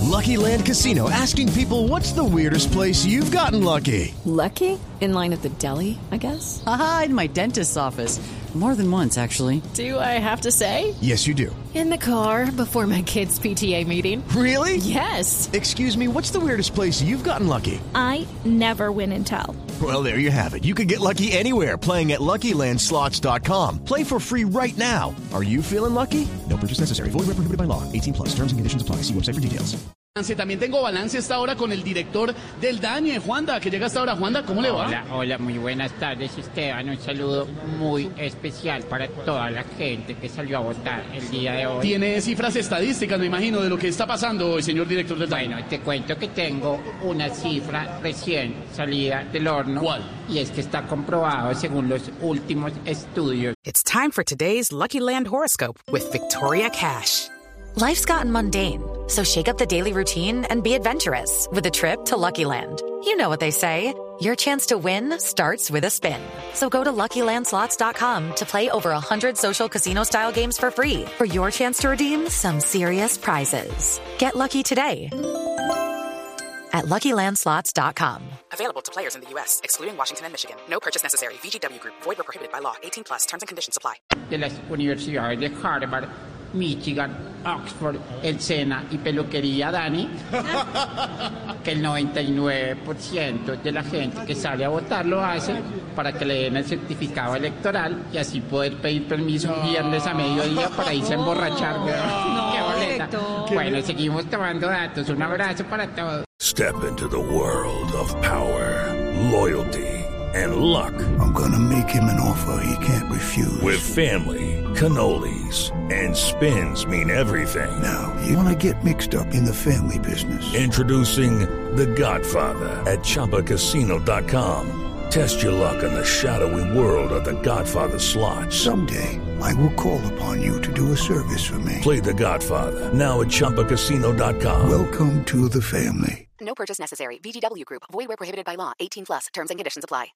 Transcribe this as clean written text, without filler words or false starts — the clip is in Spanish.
Lucky Land Casino, asking people, what's the weirdest place you've gotten lucky? Lucky? In line at the deli, I guess? Aha, in my dentist's office. More than once, actually. Do I have to say? Yes, you do. In the car before my kids' PTA meeting. Really? Yes. Excuse me, what's the weirdest place you've gotten lucky? I never win and tell. Well, there you have it. You can get lucky anywhere, playing at LuckyLandSlots.com. Play for free right now. Are you feeling lucky? No purchase necessary. Void where prohibited by law. 18 plus. Terms and conditions apply. See website for details. También tengo balance esta hora con el director del DANE, Juanda, que llega hasta ahora. Juanda, ¿cómo le va? Hola, muy buenas tardes, Esteban. Un saludo muy especial para toda la gente que salió a votar el día de hoy. Tiene cifras estadísticas, me imagino, de lo que está pasando hoy, señor director del DANE. Bueno, te cuento que tengo una cifra recién salida del horno. ¿Cuál? Y es que está comprobado según los últimos estudios. It's time for today's Lucky Land horoscope with Victoria Cash. Life's gotten mundane, so shake up the daily routine and be adventurous with a trip to Lucky Land. You know what they say, your chance to win starts with a spin. So go to LuckyLandSlots.com to play over 100 social casino-style games for free for your chance to redeem some serious prizes. Get lucky today at LuckyLandSlots.com. Available to players in the U.S., excluding Washington and Michigan. No purchase necessary. VGW Group. Void where prohibited by law. 18 plus. Terms and conditions apply. De las universidades de Harvard, Michigan, Oxford, el SENA y Peluquería Dani, que el 99% de la gente que sale a votar lo hace para que le den el certificado electoral y así poder pedir permiso un viernes a mediodía para irse a emborrachar. ¡Qué boleta! Bueno, seguimos tomando datos. Un abrazo para todos. Step into the world of power, loyalty, and luck. I'm gonna make him an offer he can't refuse. With family, cannolis, and spins mean everything. Now, you wanna get mixed up in the family business. Introducing The Godfather at ChumbaCasino.com. Test your luck in the shadowy world of The Godfather slot. Someday, I will call upon you to do a service for me. Play The Godfather, now at ChumbaCasino.com. Welcome to the family. No purchase necessary. VGW Group. Void where prohibited by law. 18 plus. Terms and conditions apply.